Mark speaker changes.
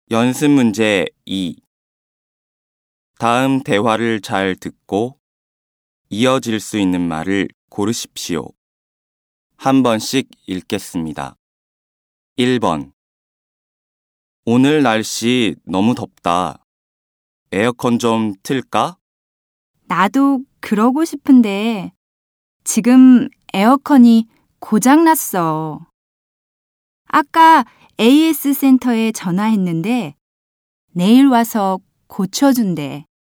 Speaker 1: 연습 문제 2. 다음 대화를 잘 듣고 이어질 수 있는 말을 고르십시오. 한 번씩 읽겠습니다. 1번. 오늘 날씨 너무 덥다. 에어컨 좀 틀까?
Speaker 2: 나도 그러고 싶은데 지금 에어컨이 고장났어. 아까 AS 센터에 전화했는데 내일 와서 고쳐준대.